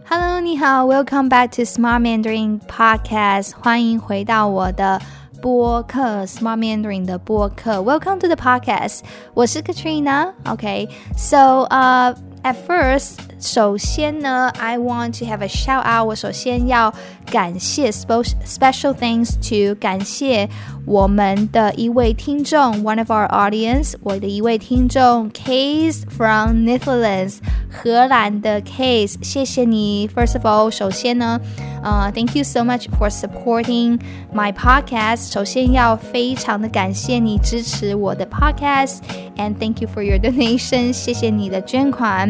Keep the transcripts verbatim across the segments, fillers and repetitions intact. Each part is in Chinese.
Hello， 你好 ，Welcome back to Smart Mandarin Podcast， 欢迎回到我的播客 Smart Mandarin 的播客 Welcome to the podcast， 我是 Katrina。Okay, so uh, at first， 首先呢 I want to have a shout out， 我首先要感谢 special thanks to 感谢我们的一位听众 one of our audience， 我的一位听众 Case from Netherlands， 荷兰的 Case， 谢谢你。 First of all， 首先呢Uh, thank you so much for supporting my podcast. 首先要非常的感谢你支持我的 podcast and thank you for your donation. 谢谢你的捐款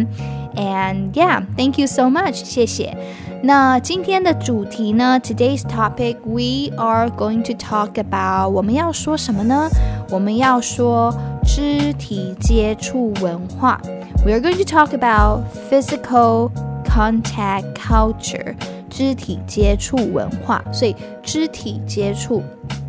and yeah, thank you so much. 谢谢。那今天的主题呢 Today's topic, we are going to talk about 我们要说什么呢？我们要说肢体接触文化。We are going to talk about physical contact culture.肢体接触文化，所以肢体接触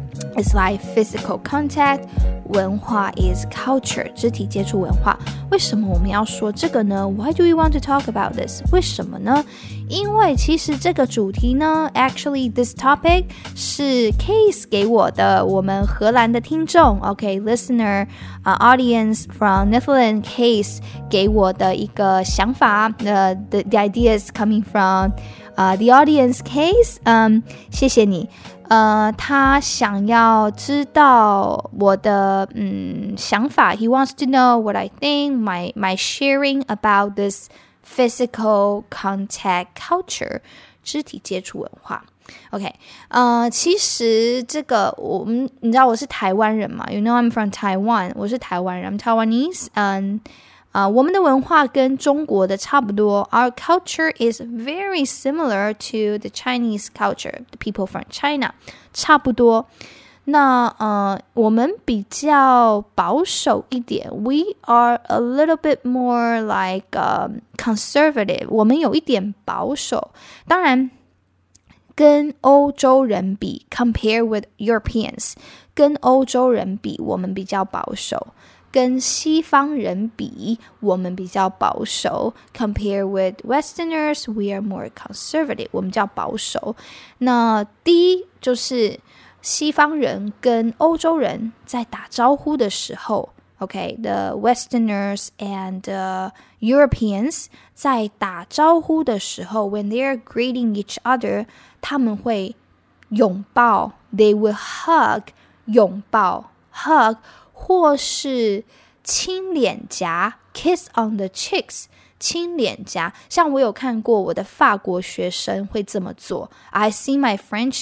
is like physical contact， 文化 is culture， 肢体接触文化。为什么我们要说这个呢？ Why do we want to talk about this？ 为什么呢？因为其实这个主题呢 actually this topic 是 Case 给我的，我们荷兰的听众 OK listener、uh, audience from Netherlands Case 给我的一个想法、uh, the, the idea is coming from、uh, the audience Case、um, 谢谢你。呃，他想要知道我的嗯想法 He wants to know what I think, my, my sharing about this physical contact culture 肢体接触文化 OK 呃，其实这个我们你知道我是台湾人嘛 You know I'm from Taiwan 我是台湾人 I'm Taiwanese 嗯呃，我们的文化跟中国的差不多 Our culture is very similar to the Chinese culture The people from China 差不多那呃，我们比较保守一点 We are a little bit more like、um, conservative 我们有一点保守当然跟欧洲人比 Compare with Europeans 跟欧洲人比我们比较保守跟西方人比我们比较保守 Compare with Westerners We are more conservative 我们比较保守那第一就是西方人跟欧洲人在打招呼的时候 OK the Westerners and、uh, Europeans 在打招呼的时候 when they're greeting each other 他们会拥抱 They will hug 拥抱 hug或是亲脸颊 kiss on the cheeks 亲脸颊像我有看过我的法国学生会这么做 I see my French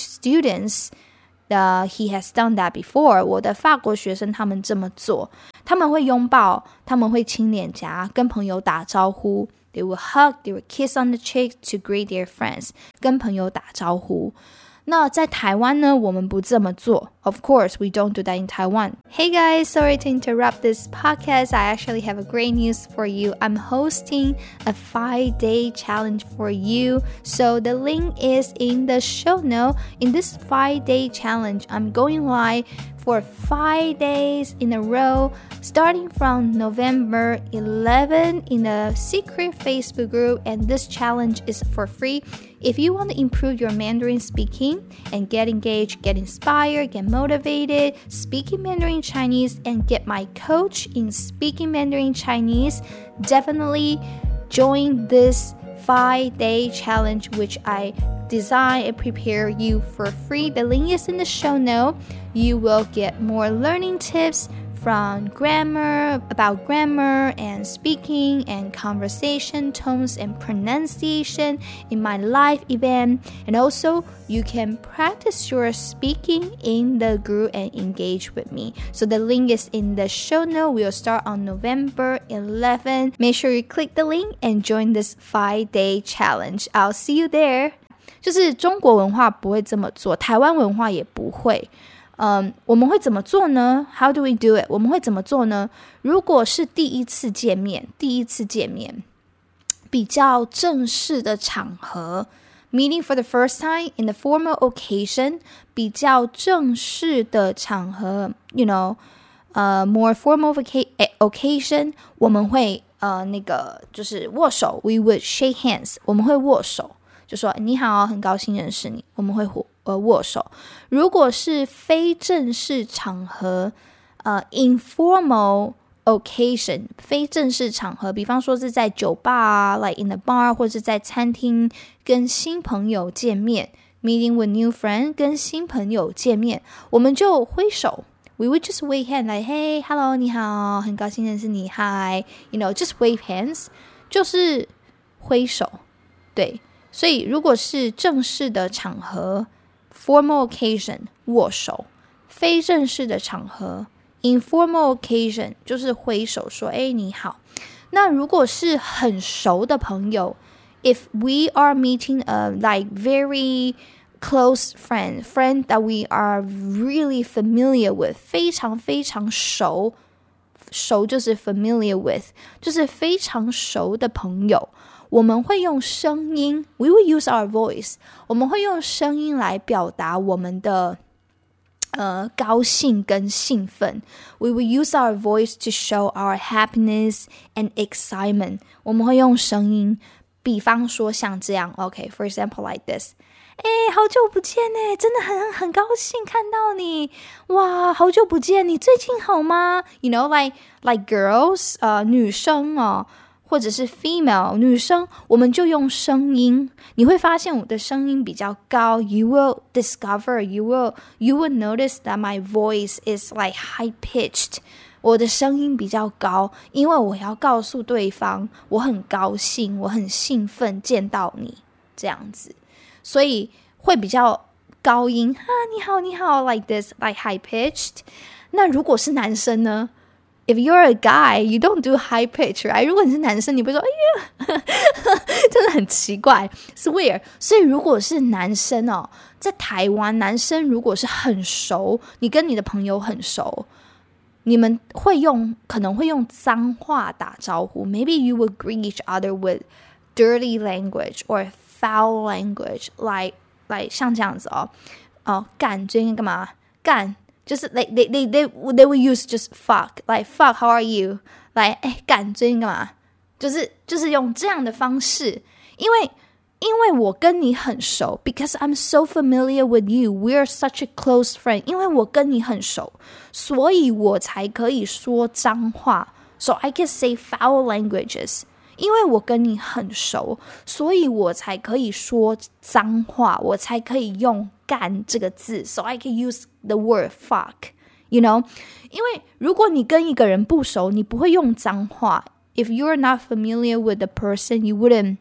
students、uh, he has done that before 我的法国学生他们这么做他们会拥抱他们会亲脸颊跟朋友打招呼 They will hug, they will kiss on the cheeks to greet their friends 跟朋友打招呼那在台湾呢我们不这么做 Of course, we don't do that in Taiwan. Hey guys, sorry to interrupt this podcast. I actually have a great news for you. I'm hosting a five-day challenge for you. So the link is in the show note. In this five-day challenge, I'm going live for five days in a row, starting from November eleventh in a secret Facebook group. And this challenge is for free. If you want to improve your Mandarin speaking and get engaged, get inspired, get motivated, speaking Mandarin Chinese, and get my coach in speaking Mandarin Chinese, definitely join this five-day challenge, which I design and prepare you for free. The link is in the show note. You will get more learning tips from grammar, about grammar and speaking and conversation tones and pronunciation in my live event. And also, you can practice your speaking in the group and engage with me. So the link is in the show note. We'll start on November eleventh. Make sure you click the link and join this five-day challenge. I'll see you there. 就是中国文化不会这么做，台湾文化也不会。嗯，我们会怎么做呢 How do we do it? 我们会怎么做呢如果是第一次见面第一次见面比较正式的场合 Meeting for the first time in the formal occasion 比较正式的场合 You know、uh, more formal occasion 我们会呃那个就是握手 we would shake hands 我们会握手，就说你好，很高兴认识你，我们会呃握手。如果是非正式场合呃 informal occasion 非正式场合，比方说是在酒吧啊 like in the bar 或者在餐厅跟新朋友见面 meeting with new friend 跟新朋友见面，我们就挥手 we would just wave hand like hey hello 你好，很高兴认识你 hi you know just wave hands 就是挥手。对，所以如果是正式的场合 formal occasion 握手，非正式的场合informal occasion 就是挥手说诶你好。那如果是很熟的朋友 if we are meeting a like very close friend friend that we are really familiar with 非常非常熟，熟就是 familiar with 就是非常熟的朋友，我们会用声音 we will use our voice 我们会用声音来表达我们的呃，高兴跟兴奋 We will use our voice to show our happiness and excitement 我们会用声音，比方说像这样 OK for example like this 诶好久不见耶，真的很很高兴看到你，哇好久不见，你最近好吗 You know like, like girls 呃，女生哦或者是 female 女生，我们就用声音，你会发现我的声音比较高 You will discover you will, you will notice that my voice is like high pitched 我的声音比较高，因为我要告诉对方我很高兴，我很兴奋见到你这样子，所以会比较高音啊，你好你好 like this like high pitched。 那如果是男生呢If you're a guy, you don't do high pitch, right? 如果你是男生，你不会说哎呀真的很奇怪 It's weird。 所以如果是男生哦，在台湾男生如果是很熟，你跟你的朋友很熟，你们会用可能会用脏话打招呼 Maybe you would greet each other with dirty language or foul language Like, like 像这样子哦，哦干最近干嘛干就是 like they, they, they, they will use just fuck like fuck how are you like 哎干最近干嘛，就是就是用这样的方式，因为因为我跟你很熟 because I'm so familiar with you we're such a close friend 因为我跟你很熟，所以我才可以说脏话 so I can say foul languages 因为我跟你很熟，所以我才可以说脏话，我才可以用干这个字 So I can use the word fuck You know 因为如果你跟一个人不熟，你不会用脏话 If you're not familiar with the person You wouldn't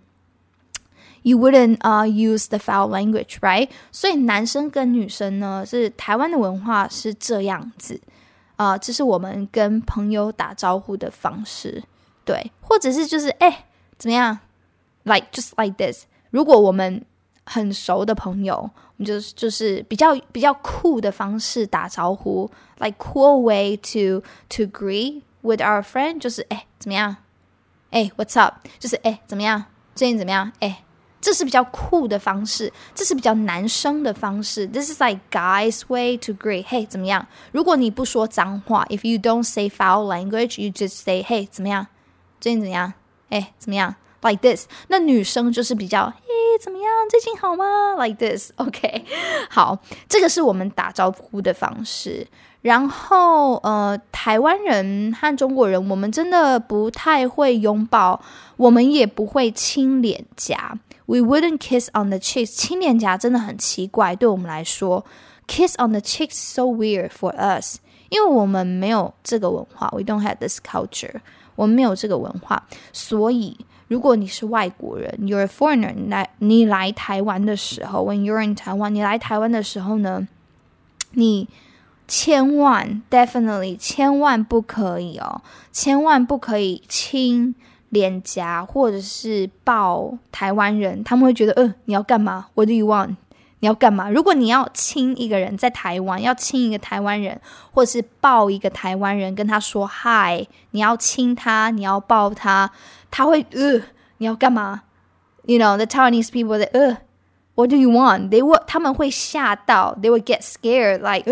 You wouldn't、uh, use the foul language right 所以男生跟女生呢，是台湾的文化是这样子、呃、这是我们跟朋友打招呼的方式，对，或者是就是哎怎么样 Like just like this 如果我们很熟的朋友，我们就就是比较比较酷的方式打招呼 Like cool way to to greet with our friend 就是哎怎么样哎 what's up 就是哎怎么样最近怎么样哎，这是比较酷的方式，这是比较男生的方式 This is like guys way to greet Hey 怎么样，如果你不说脏话 If you don't say foul language You just say Hey 怎么样最近怎么样哎怎么样 Like this 那女生就是比较嘿怎么样最近好吗 Like this OK 好，这个是我们打招呼的方式。然后呃，台湾人和中国人我们真的不太会拥抱，我们也不会亲脸颊 We wouldn't kiss on the cheeks 亲脸颊真的很奇怪对我们来说 Kiss on the cheeks so weird for us 因为我们没有这个文化 We don't have this culture 我们没有这个文化，所以如果你是外国人 You're a foreigner 你来, 你来台湾的时候 When you're in Taiwan 你来台湾的时候呢，你千万 definitely 千万不可以哦，千万不可以亲脸颊或者是抱台湾人，他们会觉得呃你要干嘛 What do you want 你要干嘛，如果你要亲一个人在台湾，要亲一个台湾人或者是抱一个台湾人跟他说 Hi 你要亲他你要抱他，他会呃你要干嘛 You know the Taiwanese people that, 呃 What do you want They will, 他们会吓到 They will get scared like 呃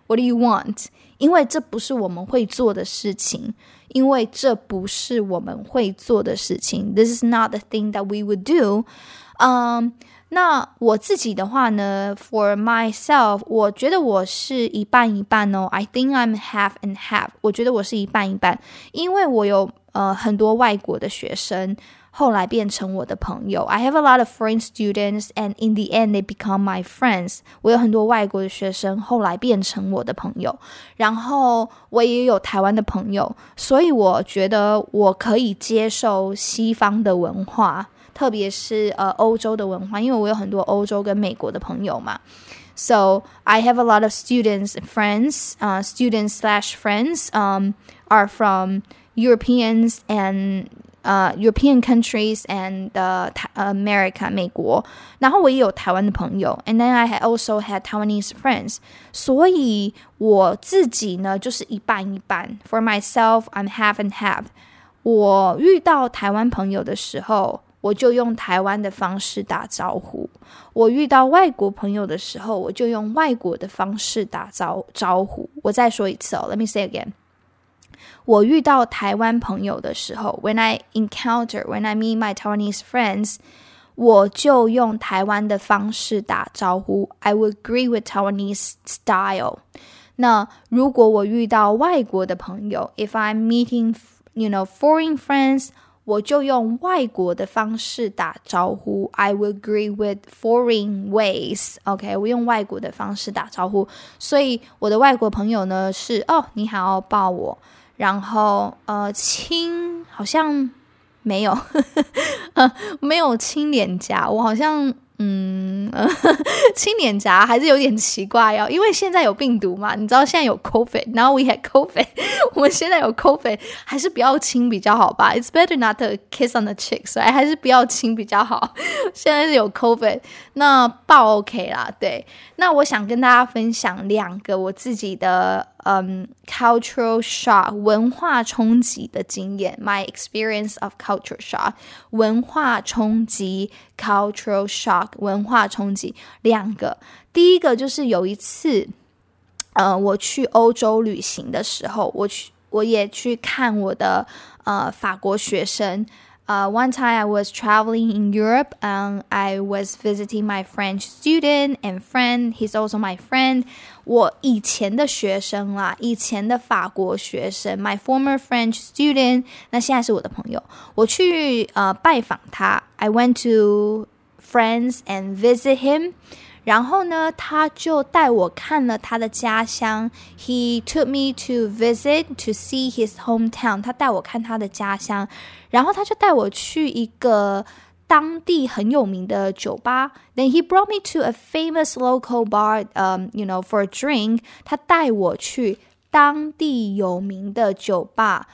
What do you want? 因为这不是我们会做的事情，因为这不是我们会做的事情。This is not the thing that we would do. 嗯、um, 那我自己的话呢 For myself 我觉得我是一半一半哦 I think I'm half and half 我觉得我是一半一半，因为我有呃很多外国的学生后来变成我的朋友 I have a lot of foreign students and in the end they become my friends 我有很多外国的学生后来变成我的朋友，然后我也有台湾的朋友，所以我觉得我可以接受西方的文化，特别是呃欧洲的文化，因为我有很多欧洲跟美国的朋友嘛。So I have a lot of students and friends, uh, students slash friends um, are from Europeans and uh, European countries and uh, America, 美国。然后我也有台湾的朋友 and then I also had Taiwanese friends. 所以我自己呢就是一半一半。For myself, I'm half and half. 我遇到台湾朋友的时候我就用台湾的方式打招呼，我遇到外国朋友的时候我就用外国的方式打招招呼。我再说一次哦 Let me say again. 我遇到台湾朋友的时候 When I encounter, when I meet my Taiwanese friends 我就用台湾的方式打招呼 I will agree with Taiwanese style. 那如果我遇到外国的朋友 If I'm meeting, you know, foreign friends我就用外国的方式打招呼 I will agree with foreign ways OK 我用外国的方式打招呼，所以我的外国朋友呢是哦你好抱我，然后呃亲好像没有没有亲脸颊，我好像嗯亲脸颊还是有点奇怪哦，因为现在有病毒嘛，你知道现在有 COVID now we had COVID 我们现在有 COVID 还是不要亲比较好吧 It's better not to kiss on the cheeks right? 还是不要亲比较好，现在是有 COVID 那抱 OK 啦。对，那我想跟大家分享两个我自己的Um, cultural shock 文化冲击的经验 My experience of cultural shock 文化冲击 cultural shock 文化冲击两个，第一个就是有一次呃，我去欧洲旅行的时候，我去我也去看我的呃法国学生Uh, one time I was traveling in Europe and I was visiting my French student and friend. He's also my friend. 我以前的学生啦，以前的法国学生 my former French student 那现在是我的朋友，我去呃拜访他 I went to friends and visit him然后呢他就带我看了他的家乡 He took me to visit to see his hometown 他带我看他的家乡，然后他就带我去一个当地很有名的酒吧 Then he brought me to a famous local bar um, you know, for a drink 他带我去当地有名的酒吧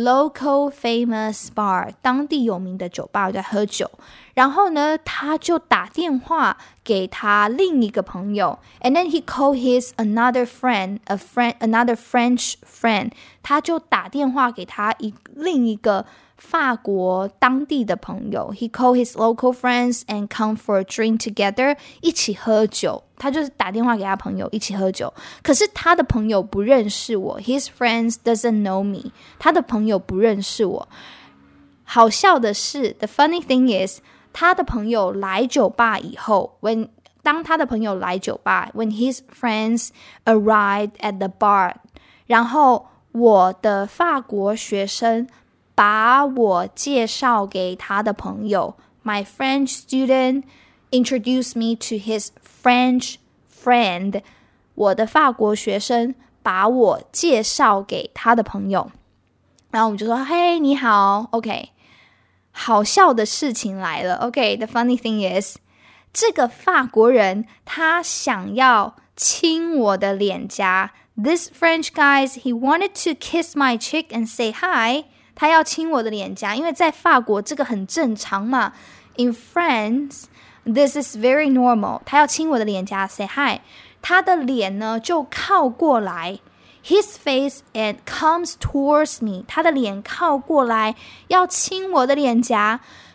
Local famous bar 当地有名的酒吧我在喝酒，然后呢他就打电话给他另一个朋友 and then he called his another friend a friend another French friend 他就打电话给他一另一个法国当地的朋友 He called his local friends and come for a drink together 一起喝酒，他就是打电话给他朋友一起喝酒，可是他的朋友不认识我 His friends doesn't know me 他的朋友不认识我。好笑的是 The funny thing is 他的朋友来酒吧以后 when 当他的朋友来酒吧 When his friends arrived at the bar 然后我的法国学生把我介绍给他的朋友 My French student introduced me to his French friend 我的法国学生把我介绍给他的朋友，然后我们就说嘿你好 OK 好笑的事情来了 OK the funny thing is 这个法国人他想要亲我的脸颊 This French guy he wanted to kiss my cheek and say hi他要亲我的脸颊，因为在法国这个很正常嘛 In France this is very normal 他要亲我的脸颊 say hi 他的脸呢就靠过来 His face and comes towards me 他的脸靠过来要亲我的脸颊，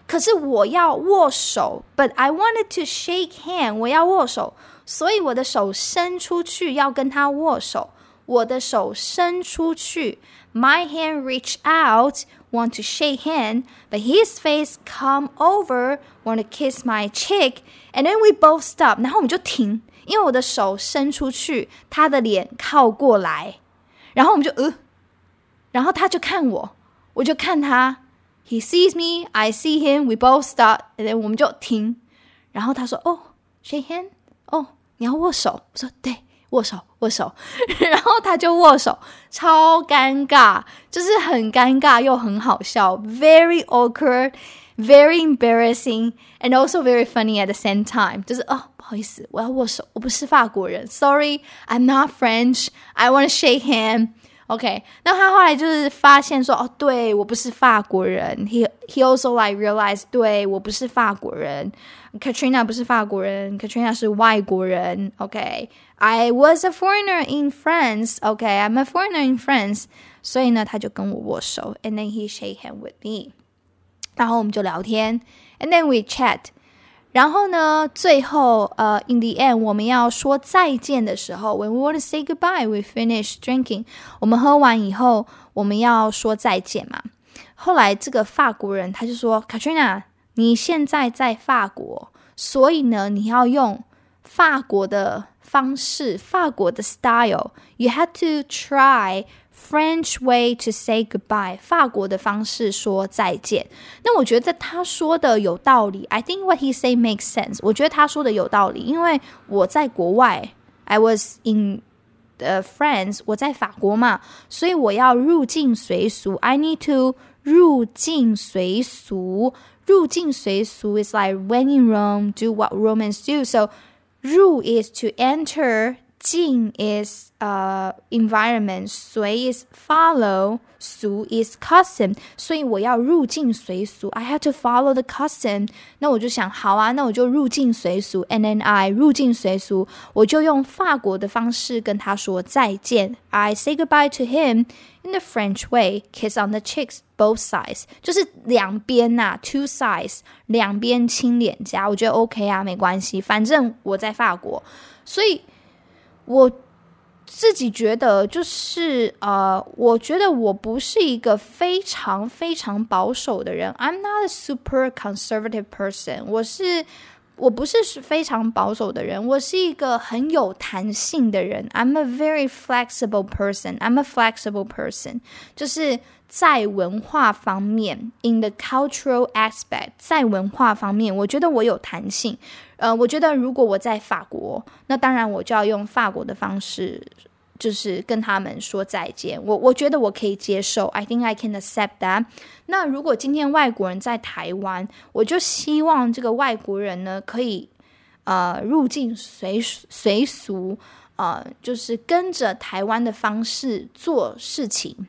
可是我要握手 ，but I wanted to shake hand， 我要握手，所以我的手伸出去要跟他握手，我的手伸出去 ，my hand reach out。Want to shake hand, but his face come over, want to kiss my cheek, and then we both stop. 然后我们就停，因为我的手伸出去，他的脸靠过来，然后我们就呃，然后他就看我，我就看他 ，he sees me, I see him, we both stop, and then 我们就停，然后他说哦 ，shake hand， 哦，你要握手，我说对。握手握手然后他就握手，超尴尬，就是很尴尬又很好笑， very awkward, very embarrassing, and also very funny at the same time， 就是哦不好意思我要握手，我不是法国人 sorry I'm not French, I want to shake hand。 OK， 那他后来就是发现说哦对我不是法国人， he, he also like realized 对我不是法国人， Katrina 不是法国人， Katrina 是外国人。 OK， I was a foreigner in France. OK, I'm a foreigner in France. 所以呢他就跟我握手 and then he shake hand with me， 然后我们就聊天 and then we chat，然后呢最后呃、uh, in the end 我们要说再见的时候 when we want to say goodbye, we finish drinking， 我们喝完以后我们要说再见嘛。后来这个法国人他就说 Katrina 你现在在法国，所以呢你要用法国的方式，法国的 style， you have to try French way to say goodbye， 法国的方式说再见。那我觉得他说的有道理， I think what he say makes sense， 我觉得他说的有道理，因为我在国外 I was in uh, France， 我在法国嘛，所以我要入境随俗， I need to 入境随俗，入境随俗 is like when in Rome, do what Romans do. So 入 is to enter, 境 is uh, environment, 随 is follow, 俗 is custom. 所以我要入境随俗 I have to follow the custom. 那我就想好啊，那我就入境随俗 And then I 入境随俗，我就用法国的方式跟他说再见 I say goodbye to him in the French way, kiss on the cheeks, both sides. 就是两边啊 two sides, 两边亲脸颊，我觉得 OK 啊，没关系，反正我在法国，所以我自己觉得就是呃，我觉得我不是一个非常非常保守的人 I'm not a super conservative person， 我是我不是非常保守的人，我是一个很有弹性的人 I'm a very flexible person I'm a flexible person 就是在文化方面 in the cultural aspect 在文化方面我觉得我有弹性呃，我觉得如果我在法国，那当然我就要用法国的方式就是跟他们说再见，我我觉得我可以接受 I think I can accept that。 那如果今天外国人在台湾，我就希望这个外国人呢可以呃入境随随俗呃，就是跟着台湾的方式做事情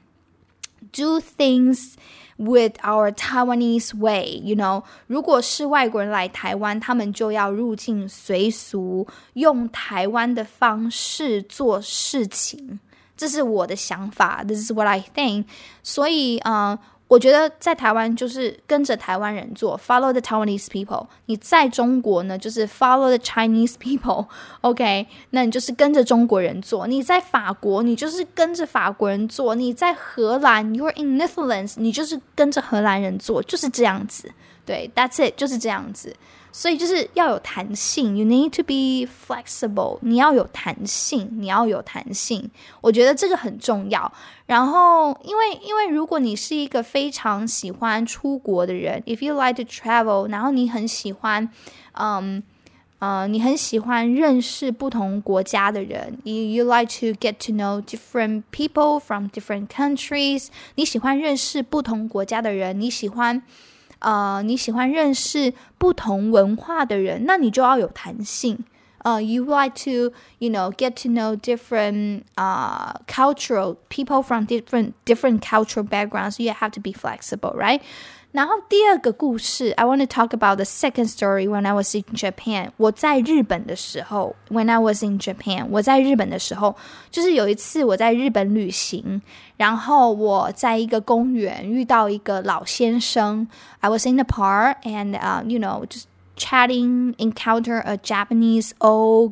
do things with our Taiwanese way, you know, 如果是外国人来台湾，他们就要入境随俗，用台湾的方式做事情，这是我的想法 This is what I think。 所以呃我觉得在台湾就是跟着台湾人做 Follow the Taiwanese people， 你在中国呢就是 Follow the Chinese people OK， 那你就是跟着中国人做，你在法国你就是跟着法国人做，你在荷兰 You're in Netherlands 你就是跟着荷兰人做，就是这样子，对 That's it 就是这样子，所以就是要有弹性 You need to be flexible， 你要有弹性你要有弹性，我觉得这个很重要。然后因为因为如果你是一个非常喜欢出国的人 If you like to travel， 然后你很喜欢嗯呃，你很喜欢认识不同国家的人 you, you like to get to know different people from different countries， 你喜欢认识不同国家的人，你喜欢呃，你喜欢认识不同文化的人，那你就要有弹性。Uh, you like to, you know, get to know different uh, cultural people from different different cultural backgrounds. You have to be flexible, right? 然后第二个故事 I want to talk about the second story when I was in Japan 我在日本的时候 when I was in Japan 我在日本的时候就是有一次我在日本旅行然后我在一个公园遇到一个老先生 I was in the park and、uh, you know just chatting encounter a Japanese old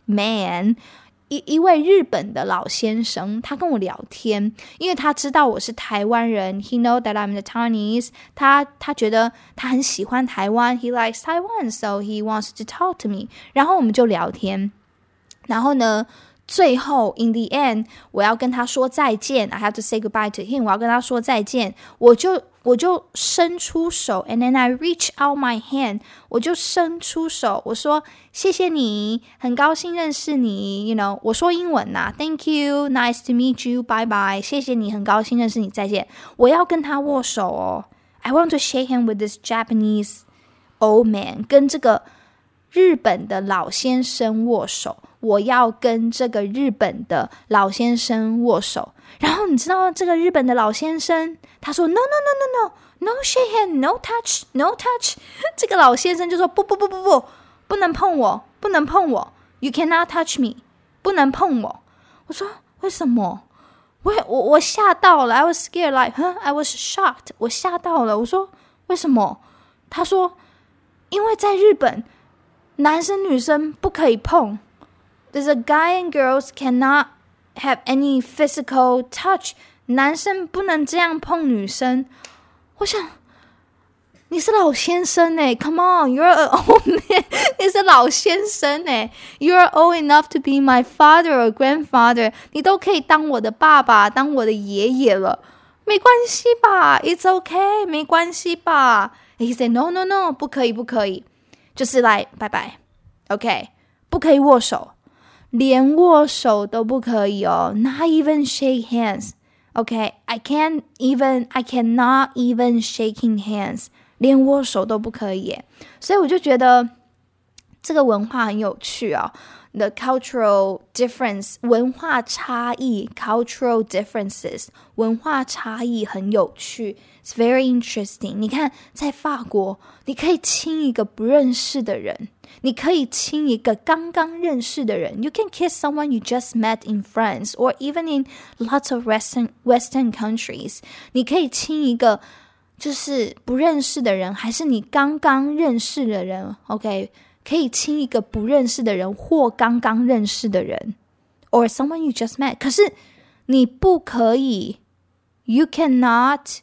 man一, 一位日本的老先生他跟我聊天因为他知道我是台湾人 He know that I'm the Taiwanese 他, 他觉得他很喜欢台湾 He likes Taiwan So he wants to talk to me 然后我们就聊天然后呢最后 in the end 我要跟他说再见 I have to say goodbye to him 我要跟他说再见我就我就伸出手 and then I reach out my hand 我就伸出手我说谢谢你很高兴认识你 you know 我说英文啊 Thank you Nice to meet you Bye bye 谢谢你很高兴认识你再见我要跟他握手哦 I want to shake hand with this Japanese old man 跟这个日本的老先生握手我要跟这个日本的老先生握手然后你知道这个日本的老先生他说 No no no no no No shake hand No touch No touch 这个老先生就说不不不不不不能碰我不能碰我 You cannot touch me 不能碰我我说为什么我我我吓到了 I was scared like huh? I was shocked 我吓到了我说为什么他说因为在日本男生女生不可以碰There's a guy and girls cannot have any physical touch 男生不能这样碰女生我想你是老先生耶 Come on You're an old man 你是老先生耶 You're old enough to be my father or grandfather 你都可以当我的爸爸当我的爷爷了没关系吧 It's okay 没关系吧 He said no no no 不可以不可以就是来拜拜 OK 不可以握手连握手都不可以哦 Not even shake hands Okay I can't even I cannot even shaking hands 连握手都不可以耶所以我就觉得这个文化很有趣哦 The cultural difference 文化差异 Cultural differences 文化差异很有趣 It's very interesting 你看在法国你可以亲一个不认识的人你可以亲一个刚刚认识的人 You can kiss someone you just met in France Or even in lots of Western, Western countries 你可以亲一个就是不认识的人还是你刚刚认识的人 OK 可以亲一个不认识的人或刚刚认识的人 Or someone you just met 可是你不可以 You cannot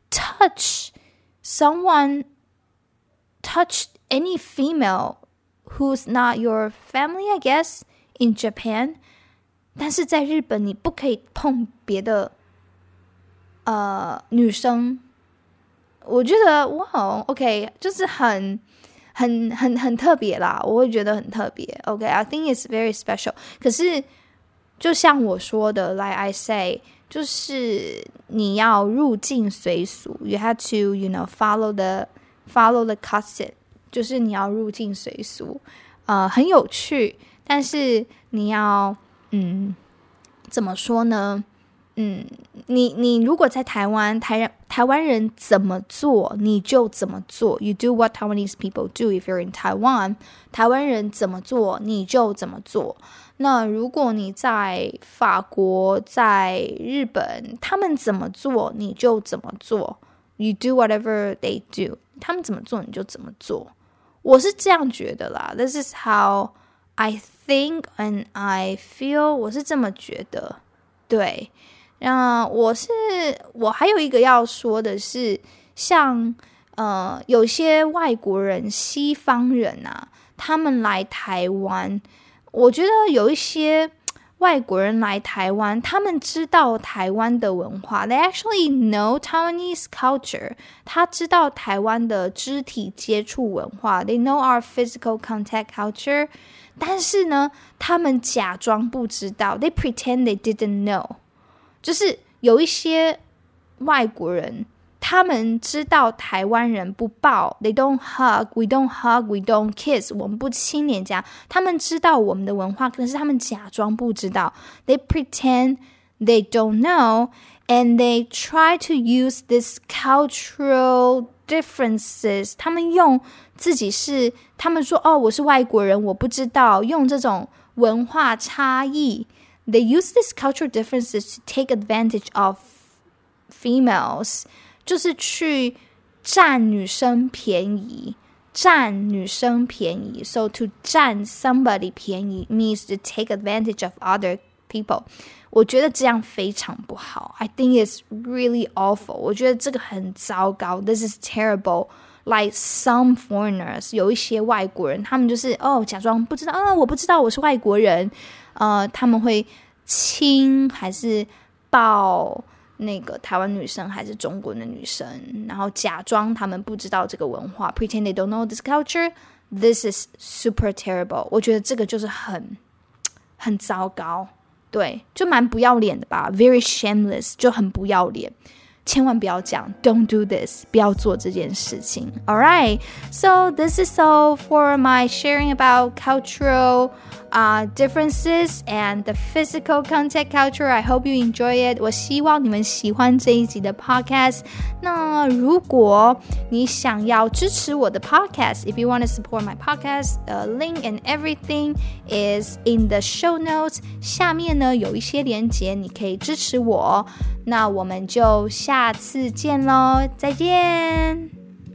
touch someone touch any female who's not your family, I guess, in Japan. 但是在日本你不可以碰别的呃女生。我觉得哇 OK 就是很很很很特别啦，我会觉得很特别 OK I think it's very special 可是就像我说的 like I say 就是你要入境随俗 you have to you know follow the follow the custom就是你要入境随俗呃，很有趣但是你要嗯怎么说呢嗯，你你如果在台湾台台湾人怎么做你就怎么做 You do what Taiwanese people do if you're in Taiwan 台湾人怎么做你就怎么做那如果你在法国在日本他们怎么做你就怎么做 You do whatever they do 他们怎么做你就怎么做我是这样觉得啦 This is how I think and I feel 我是这么觉得对那我是我还有一个要说的是像呃有些外国人西方人啊他们来台湾我觉得有一些外国人来台湾他们知道台湾的文化 They actually know Taiwanese culture 他知道台湾的肢体接触文化 They know our physical contact culture 但是呢他们假装不知道 They pretend they didn't know 就是有一些外国人他们知道台湾人不抱 They don't hug We don't hug We don't kiss 我们不亲脸颊他们知道我们的文化可是他们假装不知道 They pretend they don't know And they try to use this cultural differences， 他们用自己是，他们说哦，我是外国人，我不知道，用这种文化差异 ，they use these cultural differences to take advantage of females， 就是去占女生便宜。占女生便宜 So to 占 somebody 便宜 means to take advantage of other people 我觉得这样非常不好 I think it's really awful 我觉得这个很糟糕 This is terrible Like some foreigners 有一些外国人他们就是哦假装不知道啊我不知道我是外国人呃他们会亲还是抱那个台湾女生还是中国的女生然后假装他们不知道这个文化 pretend they don't know this culture this is super terrible 我觉得这个就是很很糟糕对就蛮不要脸的吧 very shameless 就很不要脸千万不要讲 don't do this 不要做这件事情 Alright so this is all for my sharing about cultural Uh, differences and the physical contact culture. I hope you enjoy it. 我希望你们喜欢这一集的 podcast. 那如果你想要支持我的 podcast, if you want to support my podcast, the link and everything is in the show notes. 下面呢有一些连结，你可以支持我。那我们就下次见咯，再见。